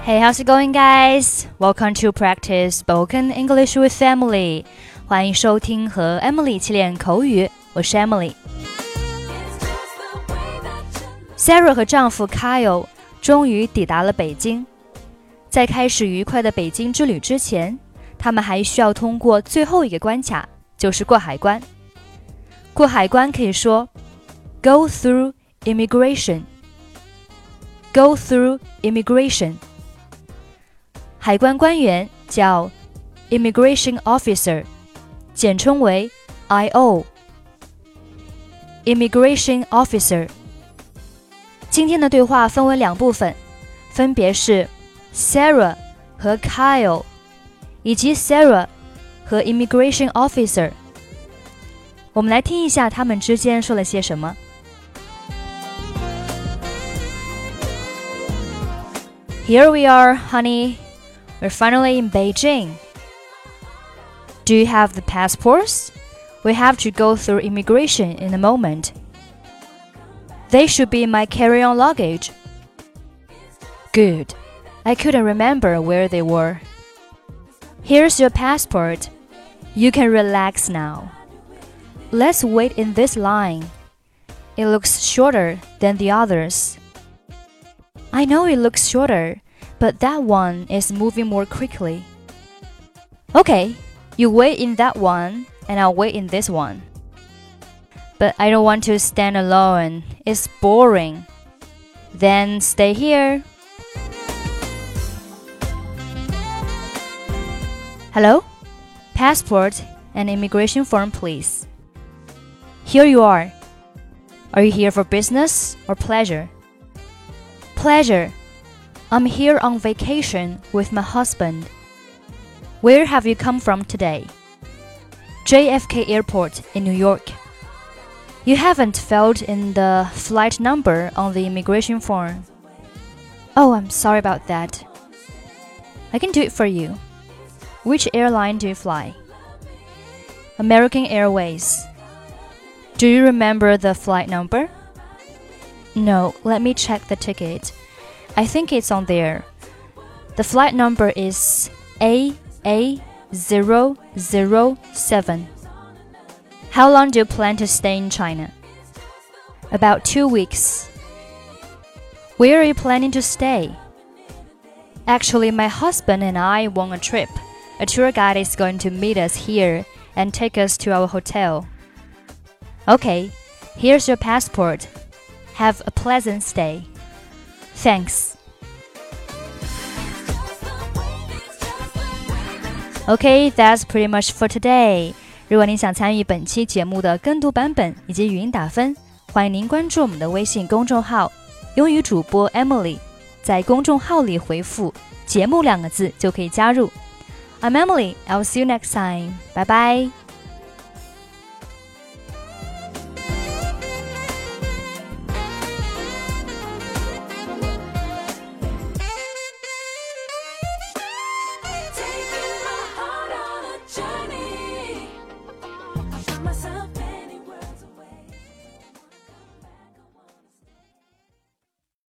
Hey, how's it going, guys? Welcome to practice spoken English with Emily. 欢迎收听和 Emily 一起练口语，我是 Emily。Sarah 和丈夫 Kyle 终于抵达了北京。在开始愉快的北京之旅之前，他们还需要通过最后一个关卡，就是过海关。过海关可以说 Go through immigration. Go through immigration.海关官员叫 Immigration Officer， 简称为 I.O. Immigration Officer。 今天的对话分为两部分，分别是 Sarah 和 Kyle， 以及 Sarah 和 Immigration Officer。 我们来听一下他们之间说了些什么。Here we are, honey.We're finally in Beijing. Do you have the passports? We have to go through immigration in a moment. They should be in my carry-on luggage. Good. I couldn't remember where they were. Here's your passport. You can relax now. Let's wait in this line. It looks shorter than the others. I know it looks shorter.But that one is moving more quickly. Okay, you wait in that one, and I'll wait in this one. But I don't want to stand alone. It's boring. Then stay here. Hello? Passport and immigration form, please. Here you are. Are you here for business or pleasure? Pleasure.I'm here on vacation with my husband. Where have you come from today? JFK Airport in New York. You haven't filled in the flight number on the immigration form. Oh, I'm sorry about that. I can do it for you. Which airline do you fly? American Airways. Do you remember the flight number? No, let me check the ticket.I think it's on there. The flight number is AA007. How long do you plan to stay in China? About 2 weeks. Where are you planning to stay? Actually, my husband and I want a trip. A tour guide is going to meet us here and take us to our hotel. Okay, here's your passport. Have a pleasant stay. Thanks.Okay, that's pretty much for today. 如果您想参与本期节目的跟读版本以及语音打分，欢迎您关注我们的微信公众号英语主播 Emily， 在公众号里回复节目2个字就可以加入。I'm Emily, I'll see you next time. Bye bye.